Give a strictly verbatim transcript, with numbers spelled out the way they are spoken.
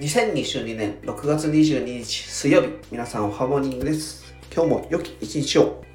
にせんにじゅうにねんろくがつにじゅうににち水曜日、皆さんおはモーニングです。今日も良き一日を。